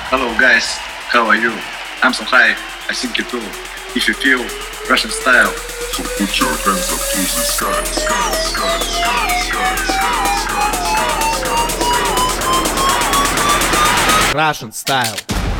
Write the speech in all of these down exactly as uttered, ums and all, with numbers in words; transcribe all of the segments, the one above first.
Hello guys, how are you? I'm so high, I think you too. If you feel Russian style, so put your hands up to the sky, sky, sky, sky, sky, sky, sky, sky, sky. Russian style.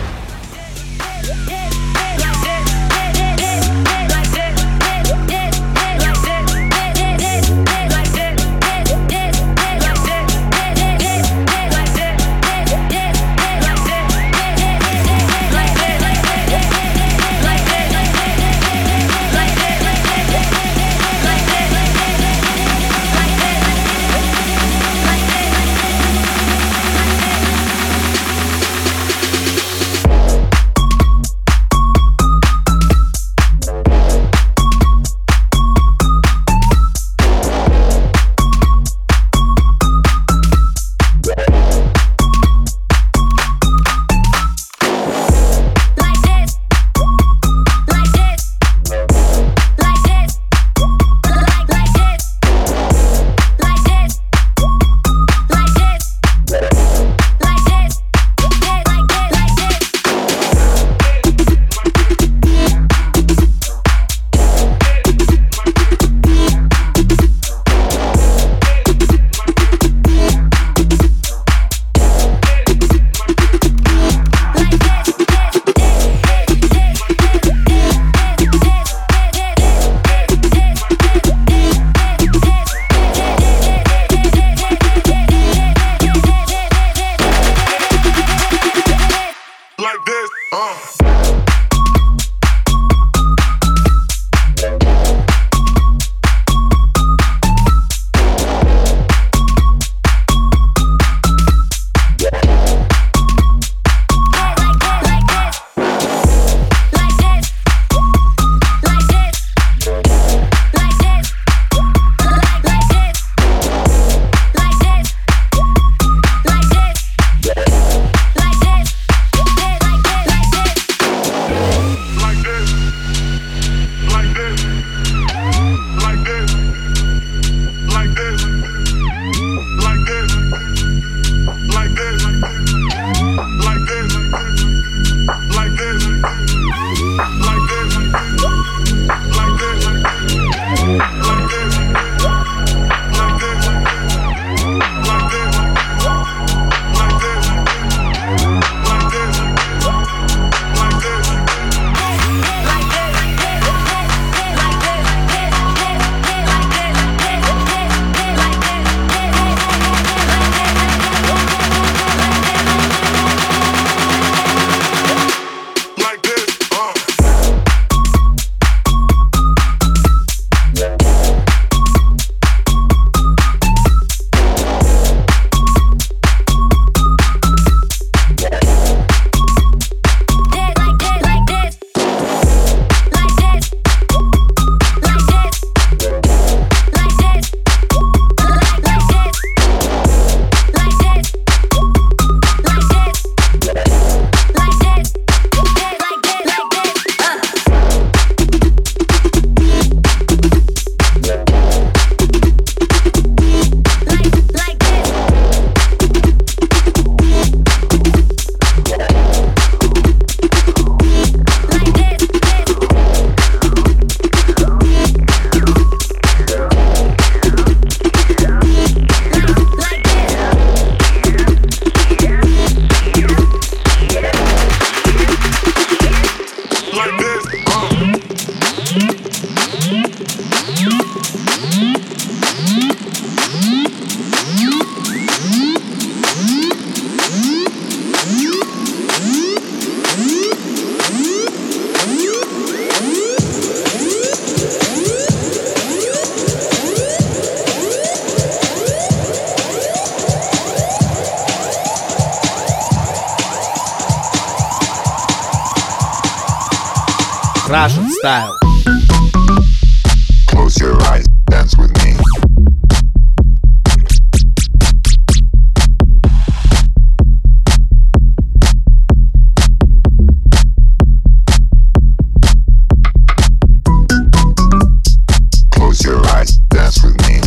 Russian style. Close your eyes, dance with me. Close your eyes, dance with me.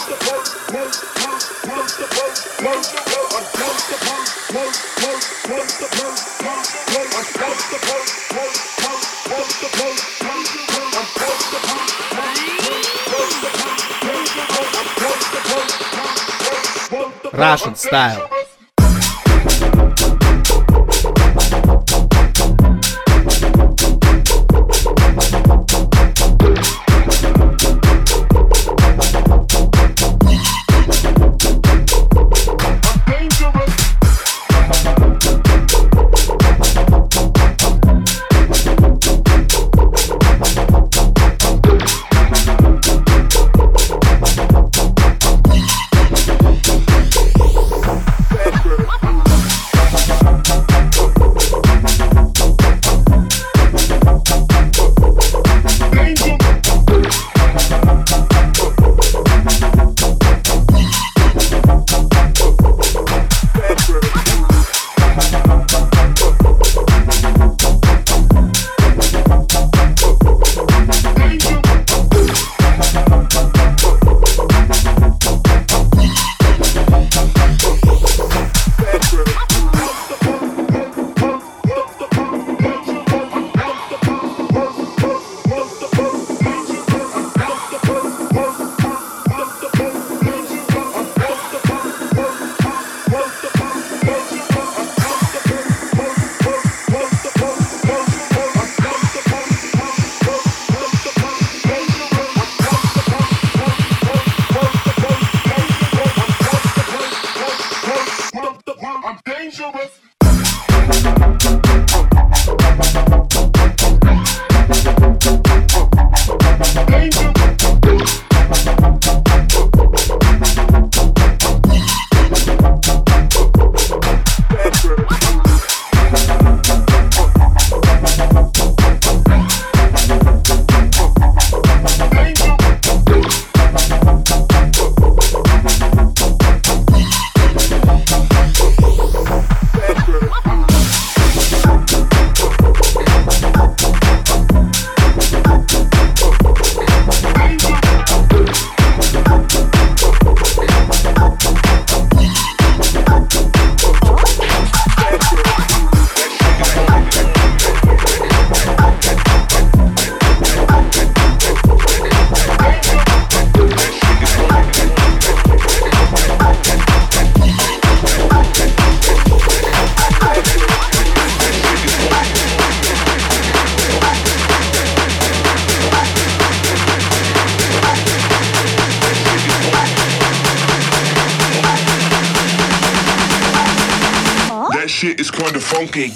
Russian style. Shit is kinda funky.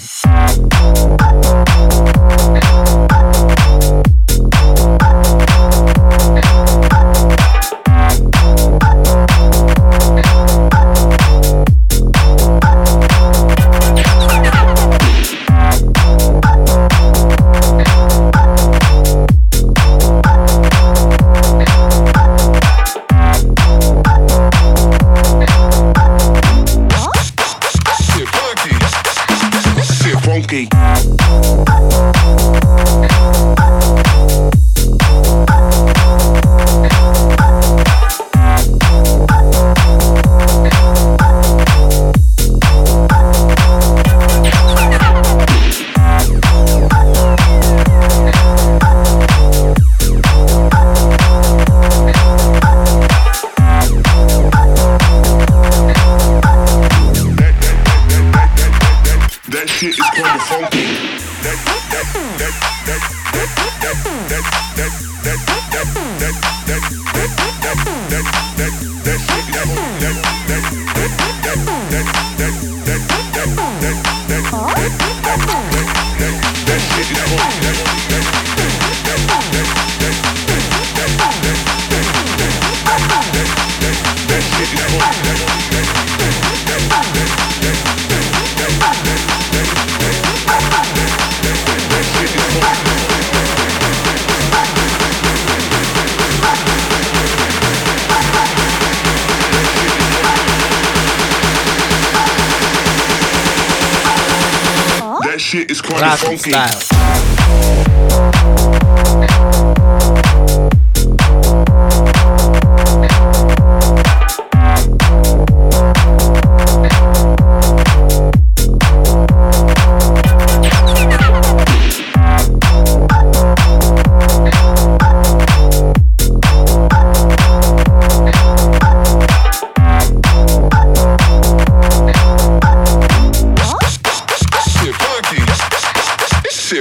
Shit is kinda Russian funky. style.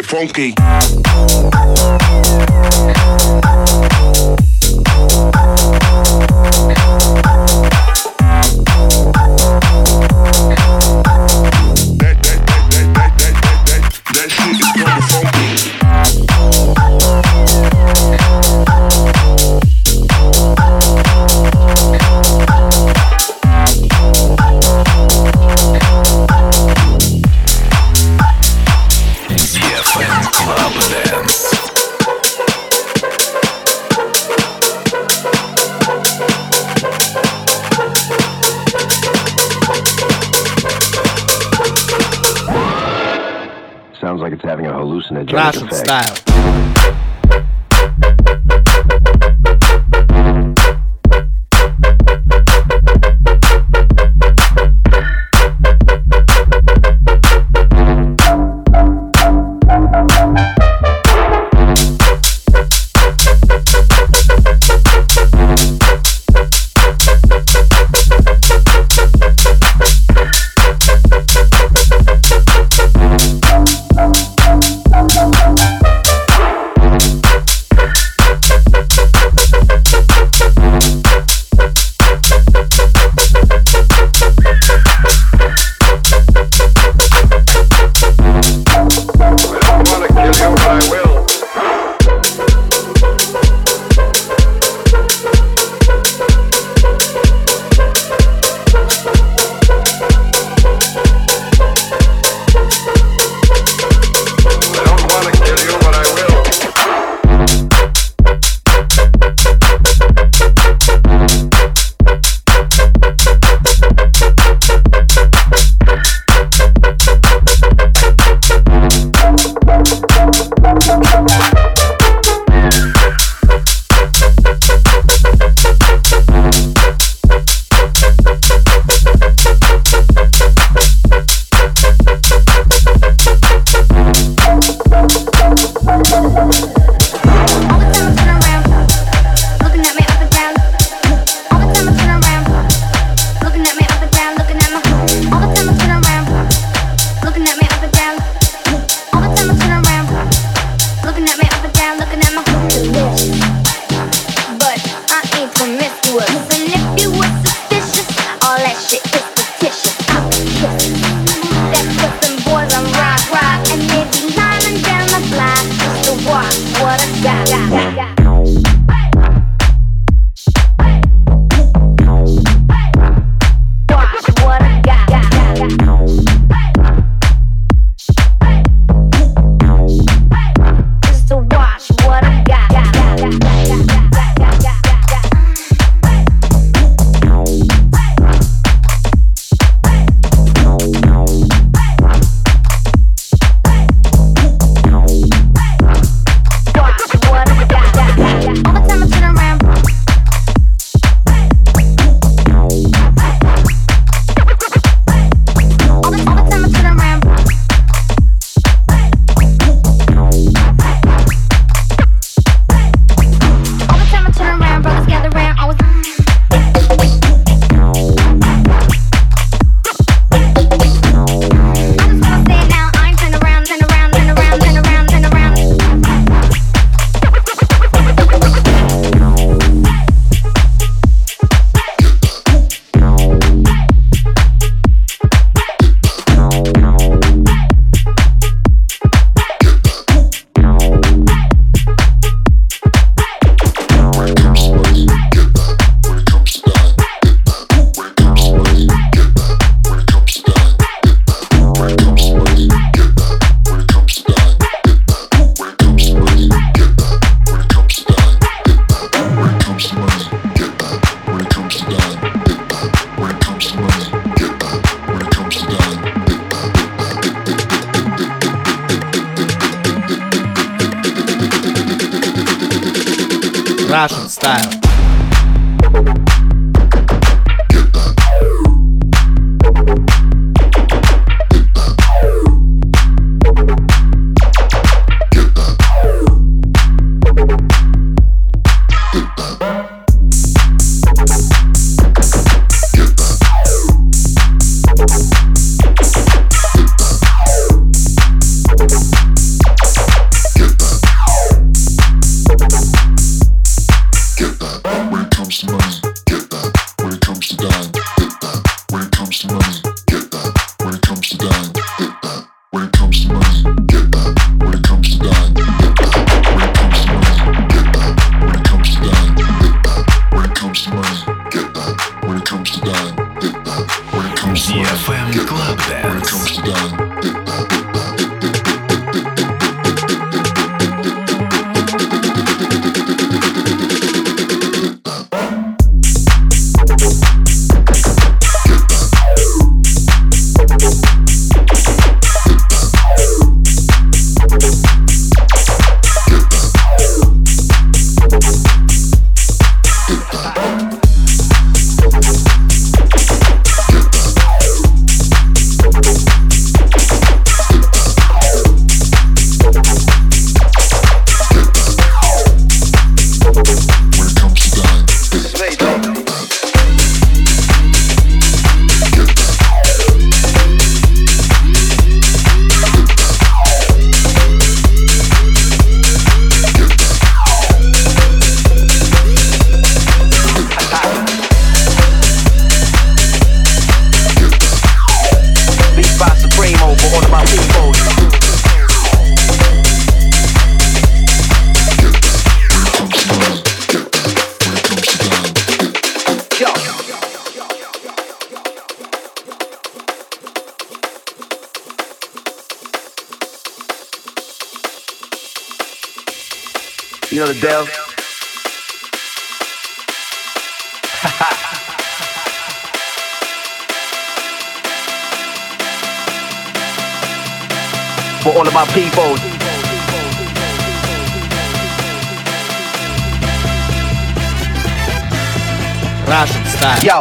funky. Sounds like it's having a hallucinogenic Russian effect. style. Russian style. dime, hit that. When it comes to money, get that. When it comes to dime, hit that. When it comes to money, get that. When it comes to dime, hit that. When it comes to money, get that. When it comes to dime, hit that. When it comes to money, get that. When it comes to dime, hit that. When it comes to money, get that. When it comes to dime, hit that. You know the deal? For all of my people. Russian style. Yo.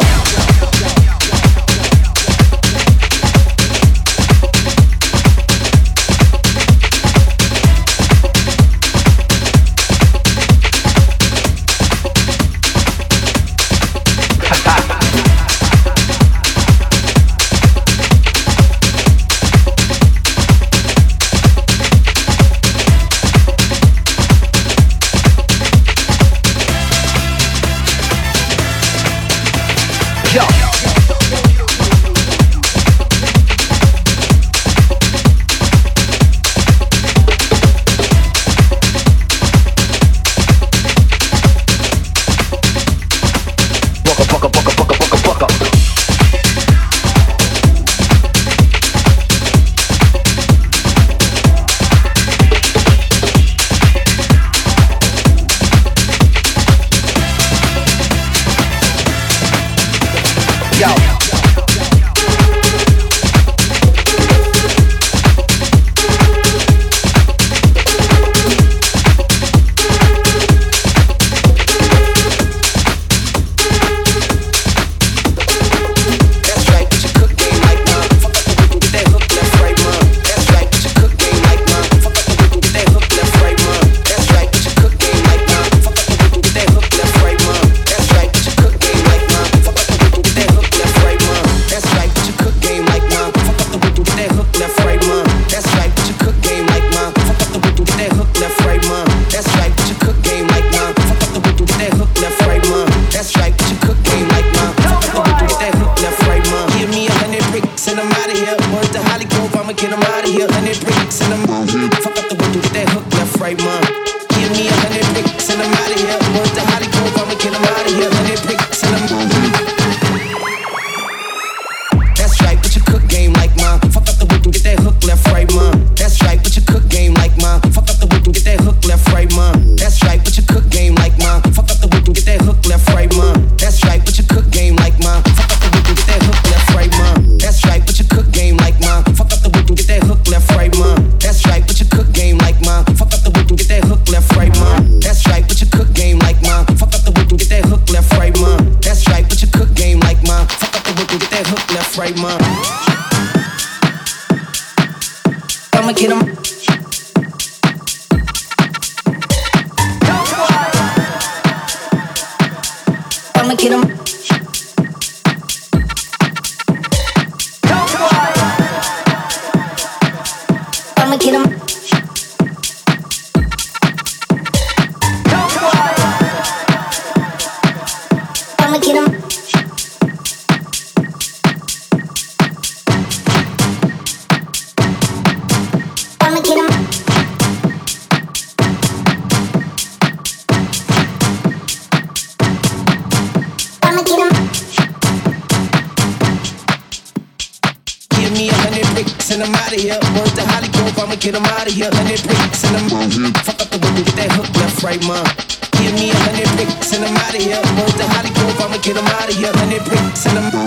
send them out of here. Word to Hollywood, I'ma get them out of here. Hundred bricks, send them fuck up the window, get that hook left, right, man. Give me a hundred bricks, send them out of here. Word to Hollywood, I'ma get them out of here. Hundred bricks, send them.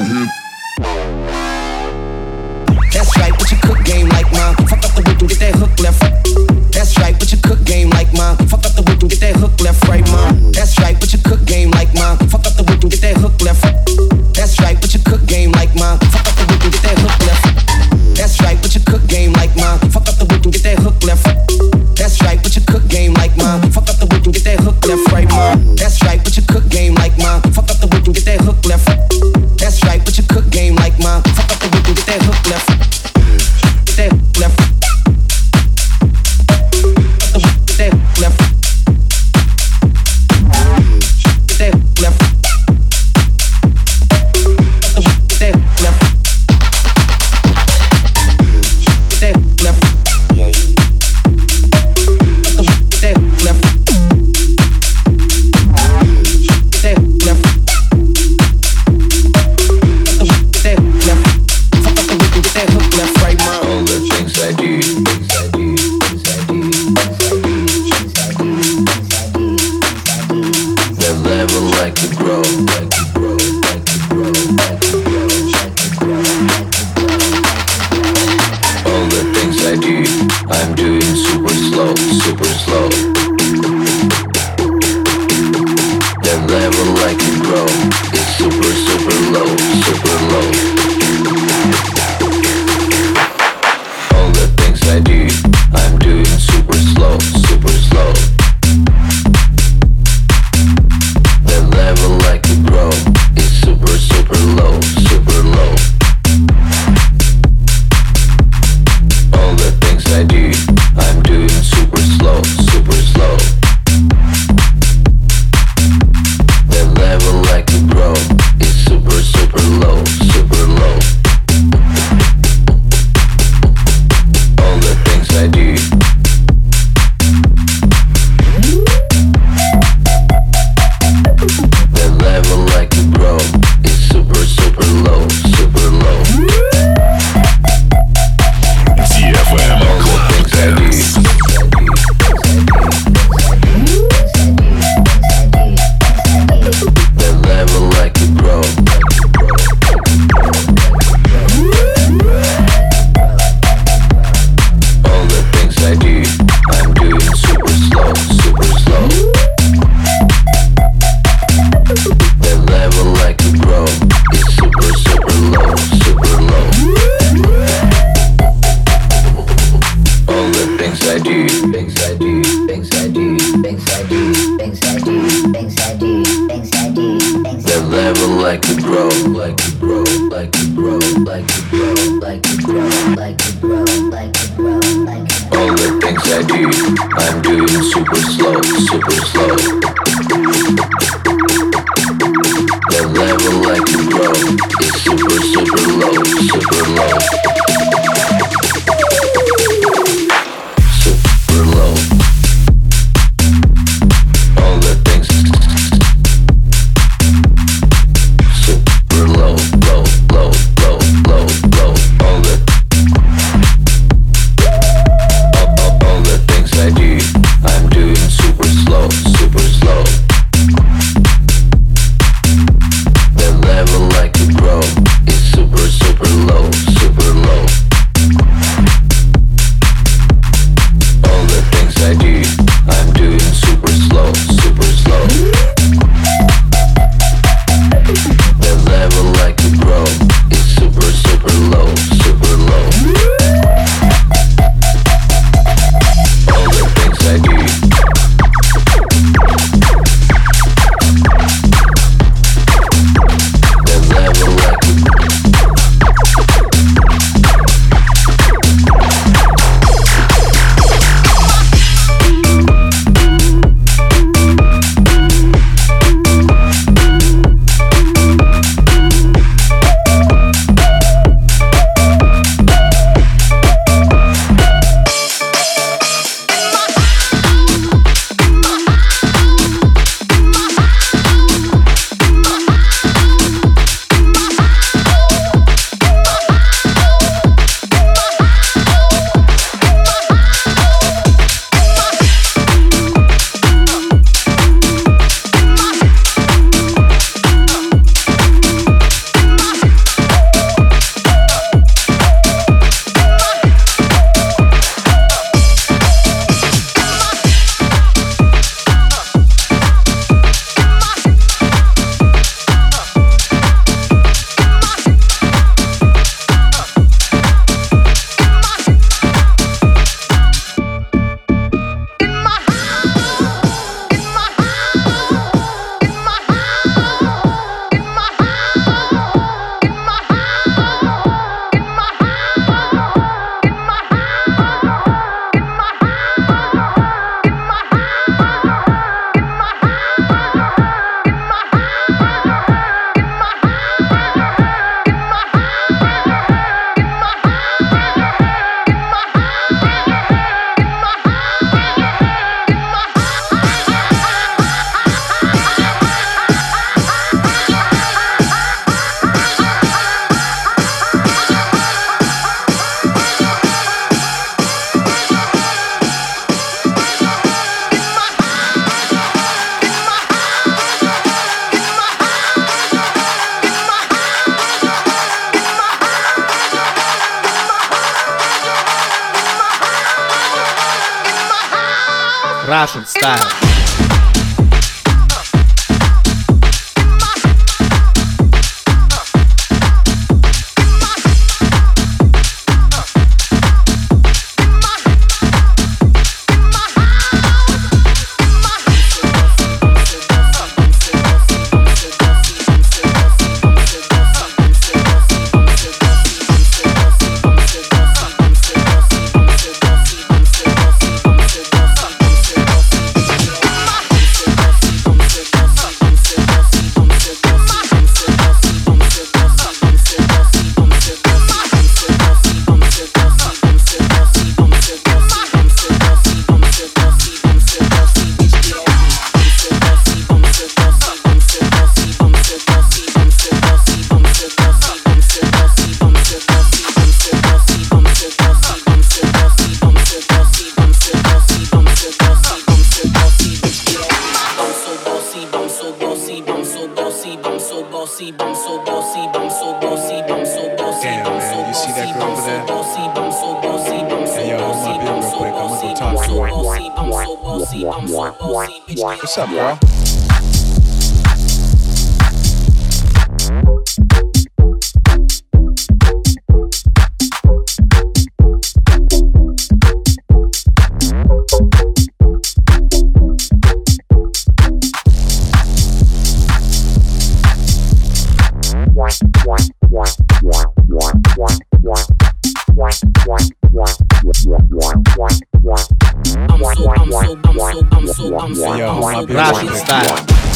That's right, but you cook game like mine. Fuck up the window, get that hook left. That's right, but you cook game like mine. Fuck up the window, get that hook left, right, man. That's right, but you cook game like mine. Fuck up the window, get that hook left. That's right, but you cook game like mine. Fuck up the window, get that hook left. That's right, but you cook game like mine. Fuck up the window, get that hook left. That's right, but you cook game like mine. Fuck up the window, get that hook left, right, man. That's right, but you cook game like mine. Fuck up the window, get that hook left. That's right, but you cook game like mine. Fuck up the window, get that hook left. Get that hook left. Get that hook left. Get that hook left. Super, super low, super low. Russian style. What's up, bro? Russian style.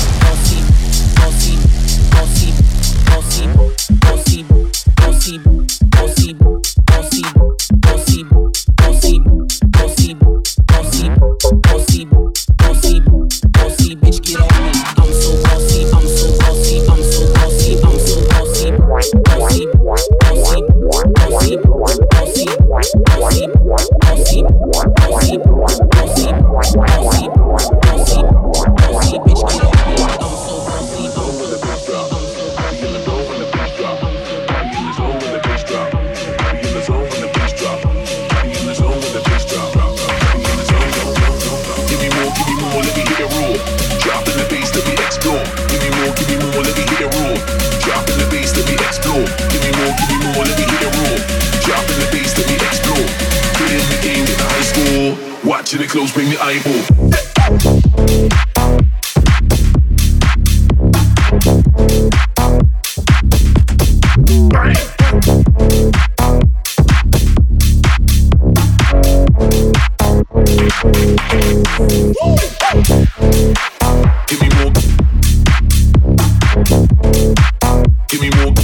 Watching it close, bring the eyeball. Give me more. Give me more.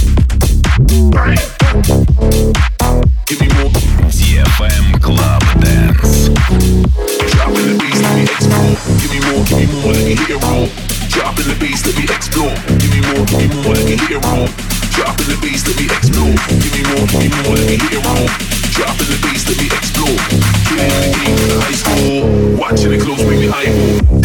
Give me more. ди эф эм Club Dance. Dropping the bass, let me explore. Give me more, give me more, let me hit it roll. Dropping the bass, let me explore. Give me more, give me more, let me hit it roll. Dropping the bass, let me explore. Give me more, give me more, let me hit it roll. Dropping the bass, let me explore. Killing the game in the high school. Watching it close, bring the eyeball.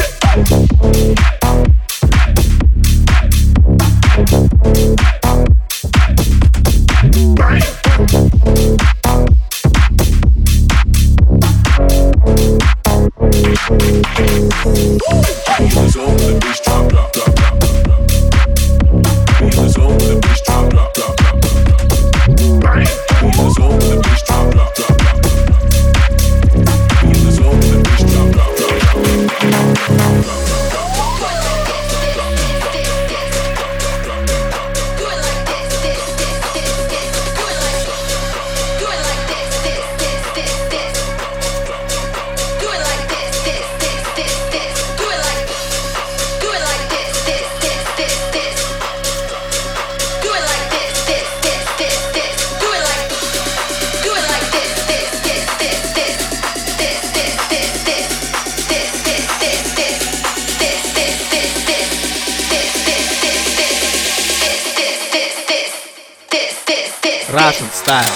Russian style.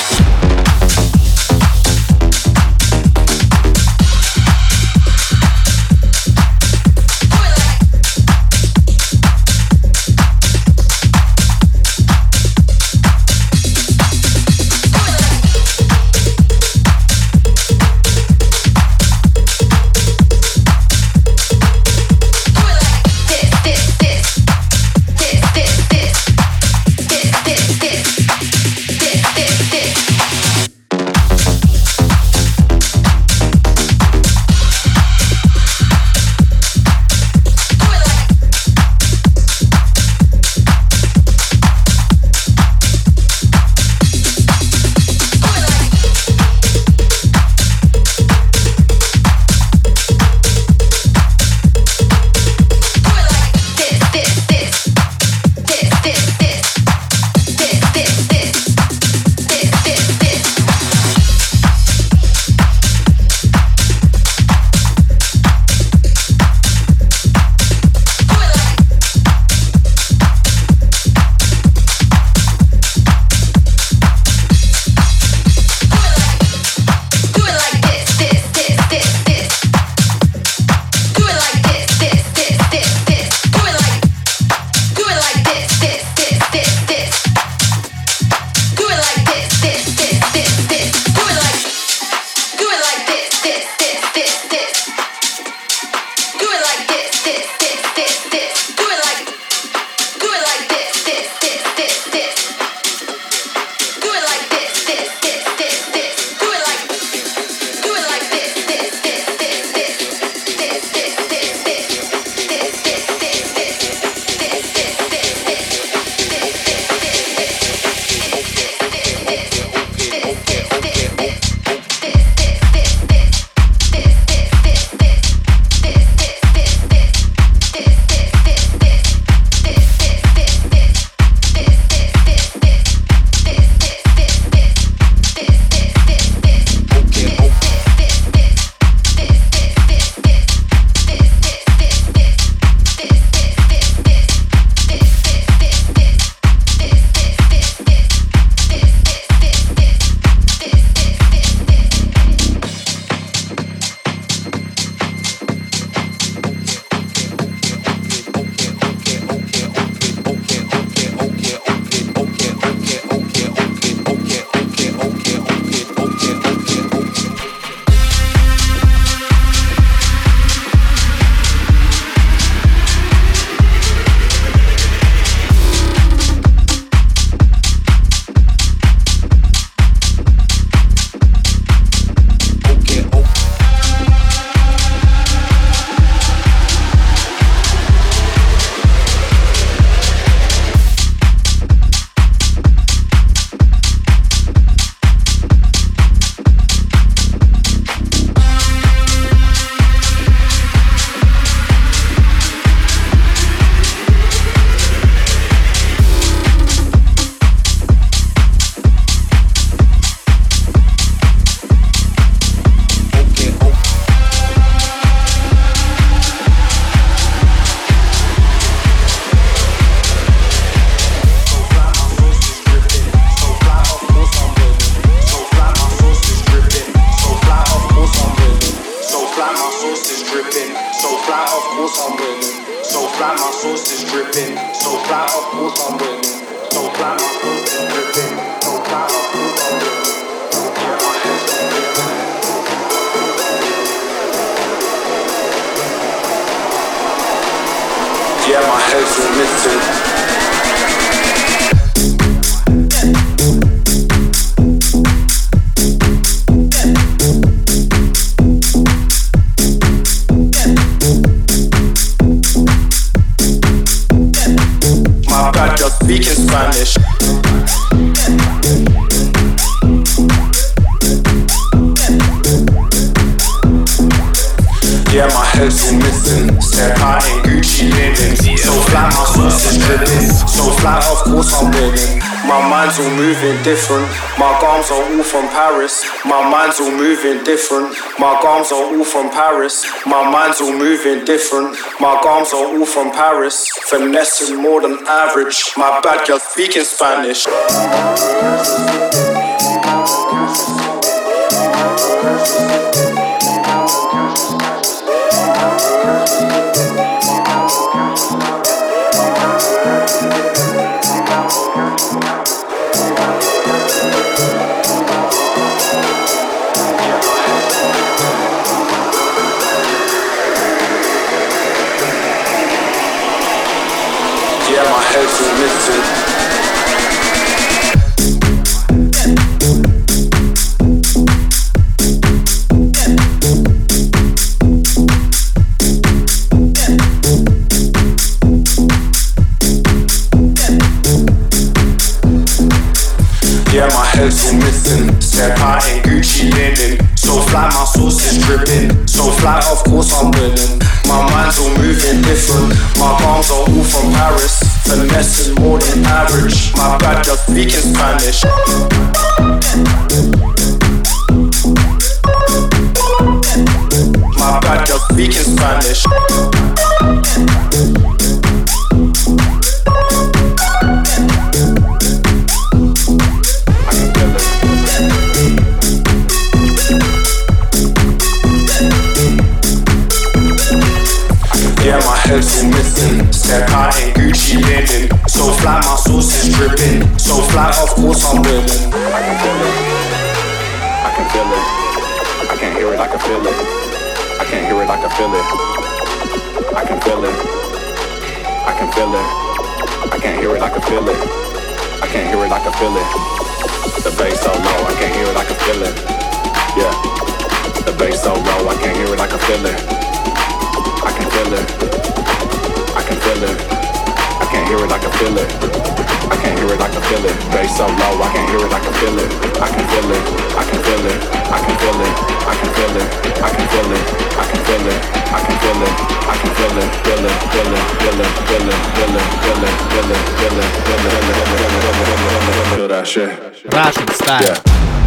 flat, of course I'm winning. So flat, my thoughts is dripping. So flat, of course I'm winning. Yeah, my head's Yeah, my head's all missing. My bad girl speaking Spanish. Yeah, my head's all missing. Step out in Gucci linen. So flat, my sauce is dripping. So flat, of course I'm winning. My mind's all moving different. My gums are all from Paris. My mind's all moving different. My gums are all from Paris. My mind's all moving different. My gums are all from Paris. Finessing more than average. My bad girl speaking Spanish. Yeah, my head's all missing. Yeah, my head's all missing. Step out in Gucci linen. So flat, my sauce is dripping. So flat, of course I'm winning. My mind's all moving different. My gums are all from Paris. Finessing more than average. My bad girl speaking Spanish. My bad girl speaking Spanish. Yeah, my head's all missing. Step out in Gucci linen. So flat, my sauce is dripping. So flat, of course I'm winning. I can feel it. I can feel it. I can't hear it, I can feel it. I can't hear it, I can feel it. I can feel it. I can feel it. I can't hear it, I can feel it. I can't hear it, I can feel it. The bass so low, I can't hear it, I can feel it. Yeah. The bass so low, I can't hear it, I can feel it. I can feel it. I can feel it. I can't hear it, I can feel it. I can't hear it, I can feel it. Bass so low, I can't hear it, I can feel it. I can feel it. I can feel it. I can feel it. I can feel it. I can feel it. I can feel it. I can feel it. I can feel it. Feel it. Feel it. Feel it. Feel it. Feel it. Feel it. Feel it. Feel it. Feel it. Feel that shit. Russian style. Yeah.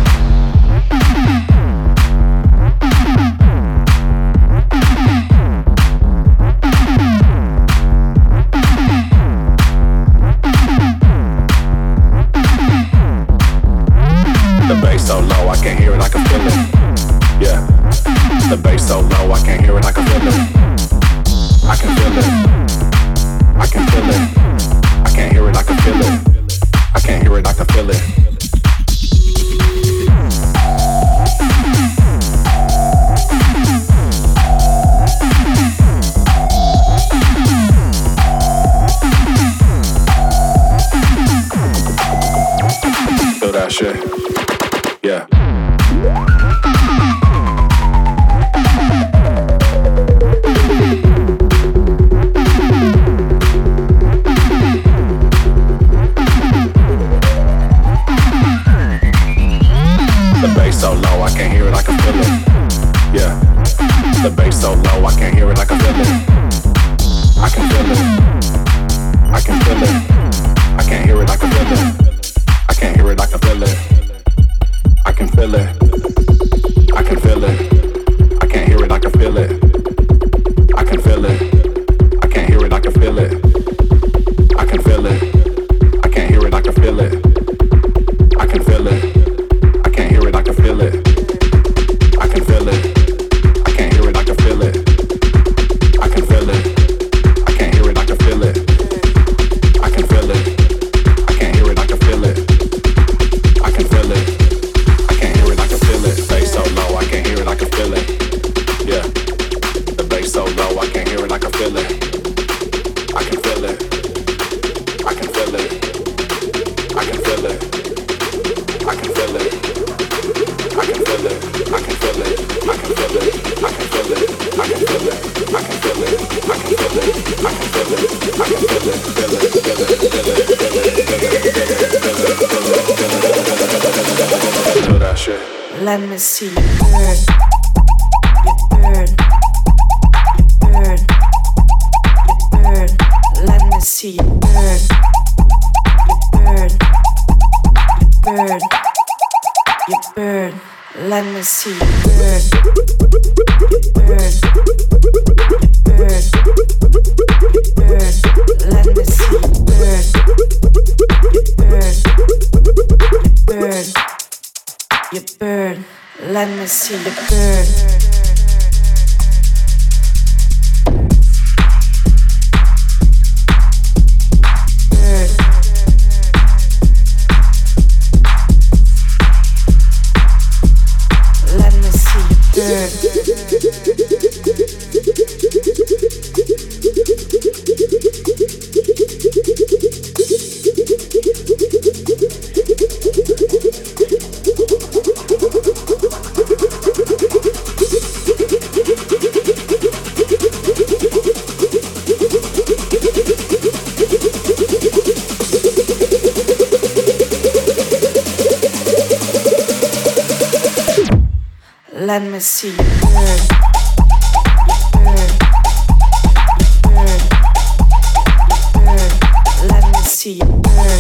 The bass so low, I can't hear it, I can feel it. Yeah. The bass so low, I can't hear it, I can feel it. I can feel it. I can feel it. I can't hear it, I can feel it. I can't hear it, I can feel it. Feel that shit. Yeah. The bass so low, I can't hear it, I can feel it. Yeah. The bass so low, I can't hear it, I can feel it. I can feel it. I can feel it. I can't hear it, I can feel it. I can't hear it, I can feel it. I can feel it. I can feel it. I can't hear it, I can feel it. I can feel it. I can't hear it, I can feel it. I can feel it. I can't hear it, I can feel it. I can feel it. I can't hear it, I can feel it. I can feel it. I can't hear it, I can feel it. I can feel it. I can't hear it, I can feel it. I can shit. Let me see you burn. You burn. You burn. You burn. Let me see you burn. You burn. You burn. You burn. Let me see you burn. You burn. You burn. You burn. Let me see you burn. You burn. You burn. You burn. Let me see you burn. Let me see you burn. You burn. You burn. You burn. Let me see you burn.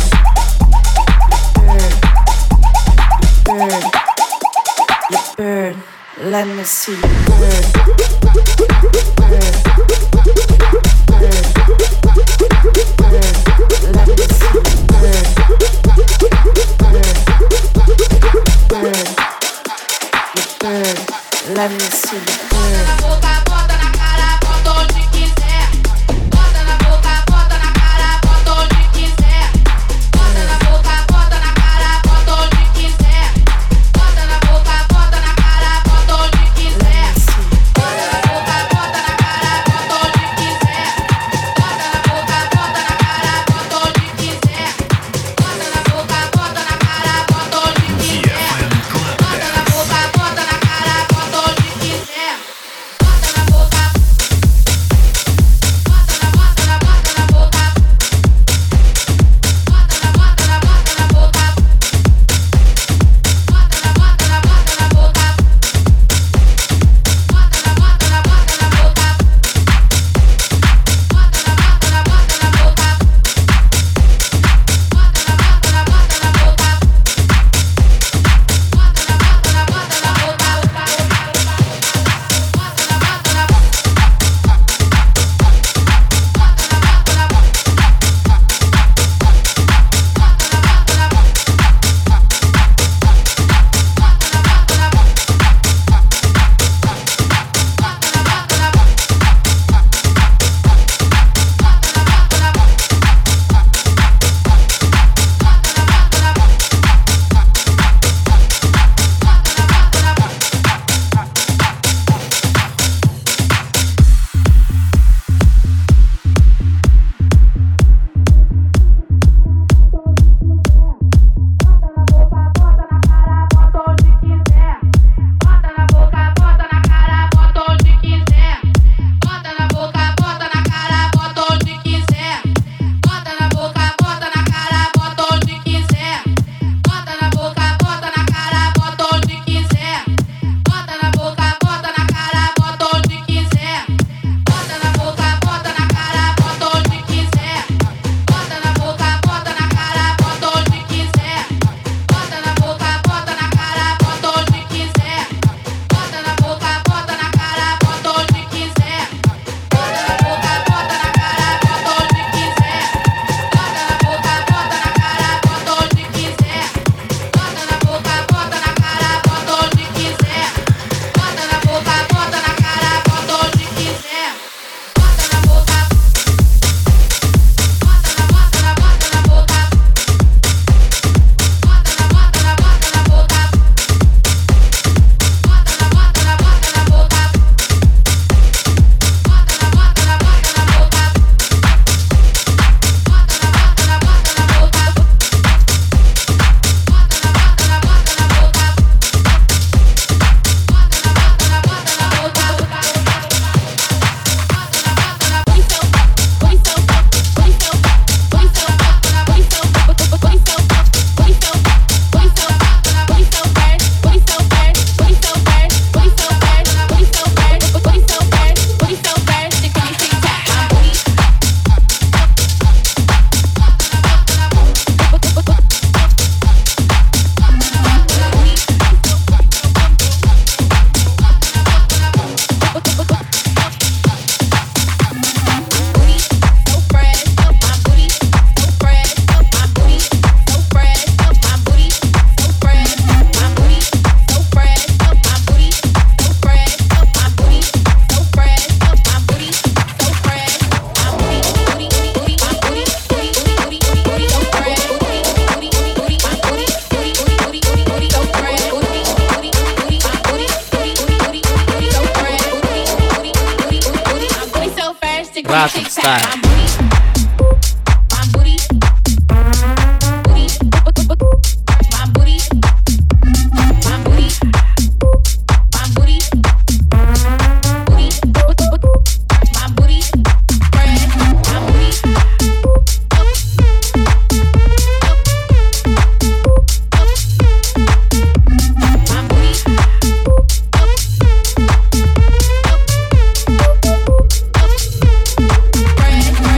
You burn. You burn. You burn. Let me see you burn. Burn. Burn. Burn. Let me see you burn. Burn. Burn. Burn. Let me see you burn. Bota na boca, bota na cara, bota onde quiser. Bota na boca, bota na cara, bota onde quiser. Bota na boca, bota na cara, bota onde quiser. Bota na boca, bota na cara, bota onde quiser. Bota na boca, bota na cara, bota onde quiser. Bota na boca, bota na cara, bota onde quiser. Bota na boca, bota na cara, bota onde quiser. Bota na boca, bota na cara, bota onde quiser. Russian style. Bread.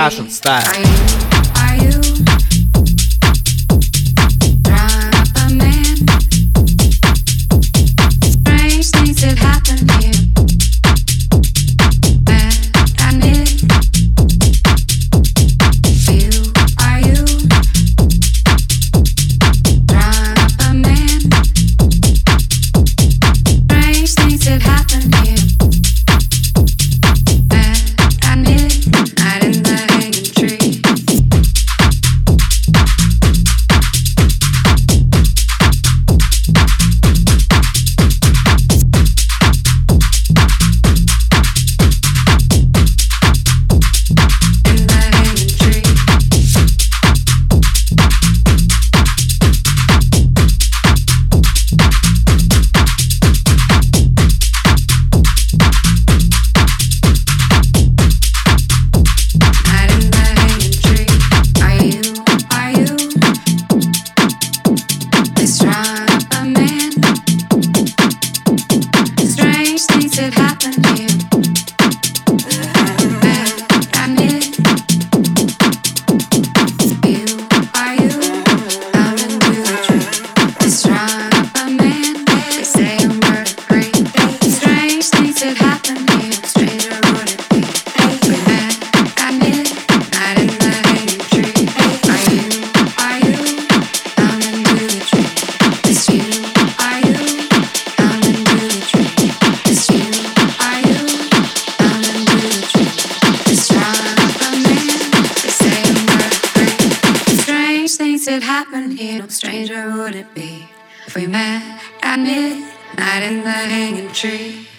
Russian style. Stranger would it be if we met at midnight in the hanging tree?